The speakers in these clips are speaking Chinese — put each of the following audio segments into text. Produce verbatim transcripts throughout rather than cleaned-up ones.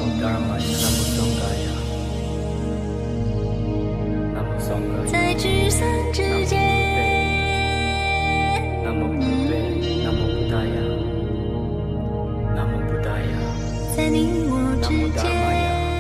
在聚散之间，在你我之间。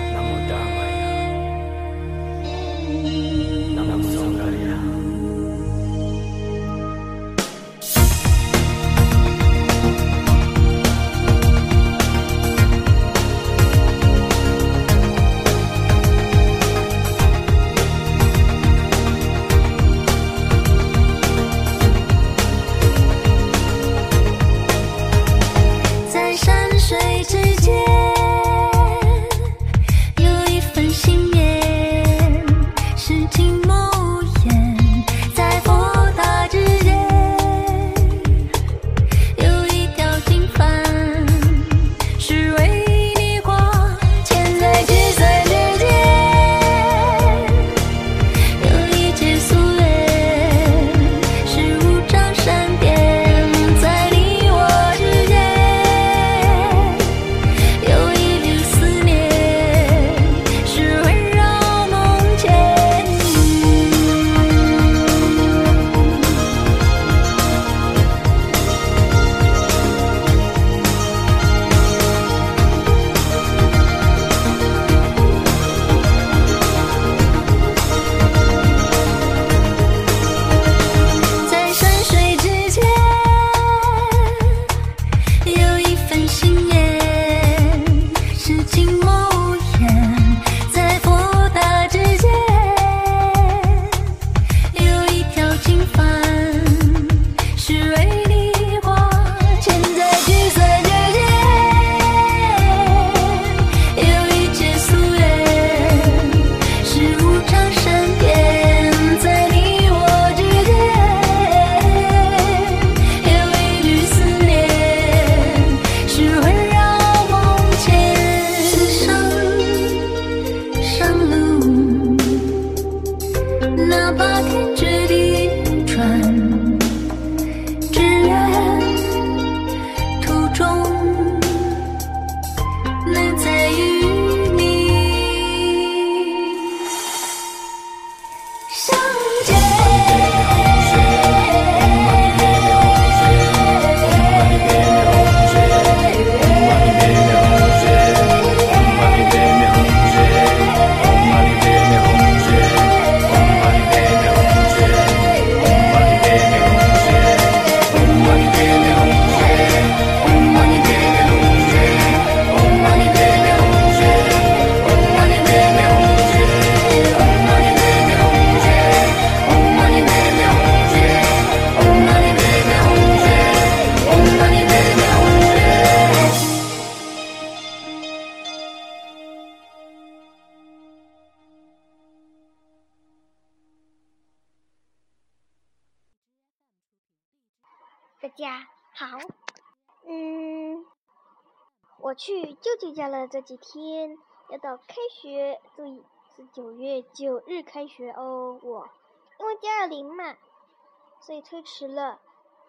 大家好，嗯，我去舅舅家了，这几天要到开学，注意是九月九日开学哦。我因为加了零嘛，所以推迟了。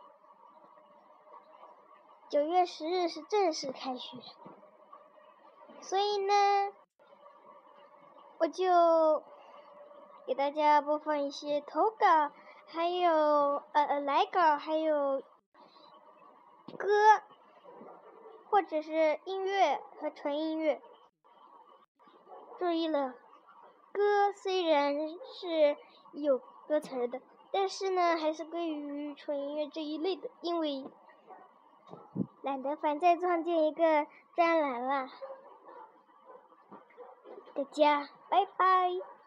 九月十日是正式开学，所以呢，我就给大家播放一些投稿，还有呃呃来稿，还有歌，或者是音乐和纯音乐。注意了，歌虽然是有歌词的，但是呢，还是归于纯音乐这一类的，因为懒得反再创建一个专栏了。大家拜拜。